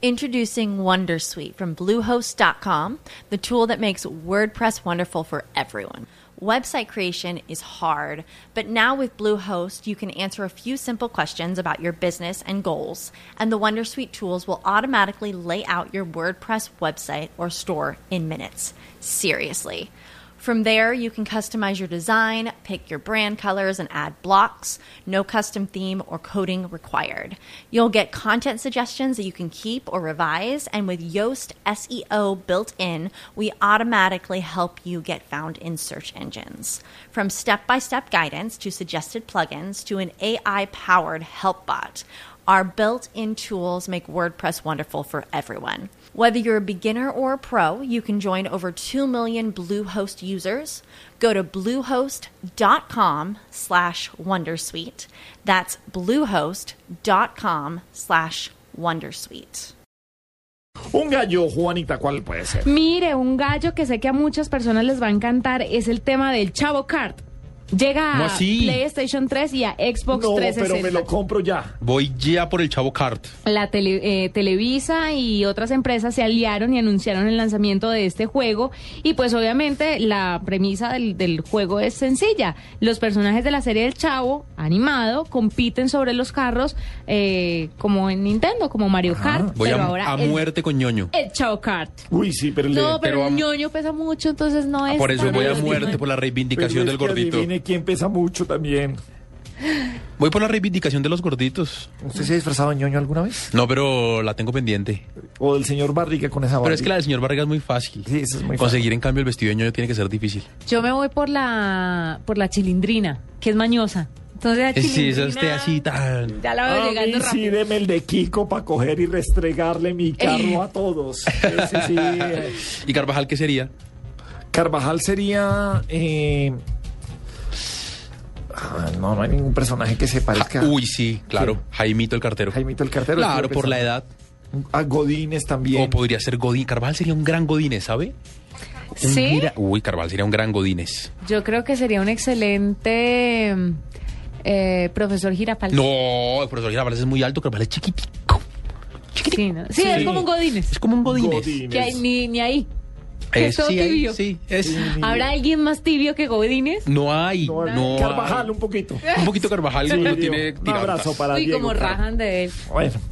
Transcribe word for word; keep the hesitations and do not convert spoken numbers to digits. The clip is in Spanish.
Introducing Wondersuite from Bluehost dot com, the tool that makes WordPress wonderful for everyone. Website creation is hard, but now with Bluehost, you can answer a few simple questions about your business and goals, and the Wondersuite tools will automatically lay out your WordPress website or store in minutes. Seriously. From there, you can customize your design, pick your brand colors, and add blocks. No custom theme or coding required. You'll get content suggestions that you can keep or revise, and with Yoast S E O built in, we automatically help you get found in search engines. From step-by-step guidance to suggested plugins to an A I-powered help bot, our built-in tools make WordPress wonderful for everyone. Whether you're a beginner or a pro, you can join over two million Bluehost users. Go to bluehost.com slash wondersuite. That's bluehost.com slash wondersuite. Un gallo, Juanita, ¿cuál puede ser? Mire, un gallo que sé que a muchas personas les va a encantar es el tema del Chavo Kart. Llega a PlayStation tres y a Xbox no, trescientos sesenta. Pero me lo compro ya. Voy ya por el Chavo Kart. La tele, eh, Televisa y otras empresas se aliaron y anunciaron el lanzamiento de este juego. Y pues obviamente la premisa del, del juego es sencilla. Los personajes de la serie del Chavo, animado, compiten sobre los carros eh, como en Nintendo, como Mario Kart. Voy pero a, ahora a el, muerte con ñoño. El Chavo Kart. Uy, sí, pero... No, le, pero, pero el a, ñoño pesa mucho, entonces no es... Por eso tan voy a divertido. muerte por la reivindicación del gordito. Adivine quién pesa mucho también. Voy por la reivindicación de los gorditos. ¿Usted se ha disfrazado de ñoño alguna vez? No, pero la tengo pendiente. O del señor Barriga con esa barriga. Pero es que la del señor Barriga es muy fácil. Sí, eso es muy Conseguir fácil. en cambio el vestido de ñoño tiene que ser difícil. Yo me voy por la por la chilindrina, que es mañosa. Entonces la Sí, eso chilindrina... esté así tan... Ya la veo A llegando mí sí, rápido. deme el de Kiko para coger y restregarle mi carro a todos. Ese sí. eh. ¿Y Carvajal qué sería? Carvajal sería... Eh... Ah, no, no hay ningún personaje que se parezca. Ja, uy, sí, claro. Sí. Jaimito el cartero. Jaimito el cartero. Claro, estuve por la pensando. edad. A Godínez también. O podría ser Godín. Carvajal sería un gran Godínez, ¿sabe? Un ¿Sí? gira- Uy, Carvajal sería un gran Godínez. Yo creo que sería un excelente eh, profesor Girafales. No, el profesor Girafales es muy alto, Carvajal es chiquitico. Sí, ¿no? Sí, Sí. es como un Godínez. Es como un Godínez. Godínez. Que hay, ni, ni ahí. Que es Es, todo sí, ahí, tibio. sí, es... Sí. ¿Habrá alguien más tibio que Godínez? No hay, No, no, Carvajal, hay. un poquito. Un poquito Carvajal Sí, lo Dios. tiene Un tirado. abrazo para Uy, Diego como Carvajal. rajan de él. Bueno.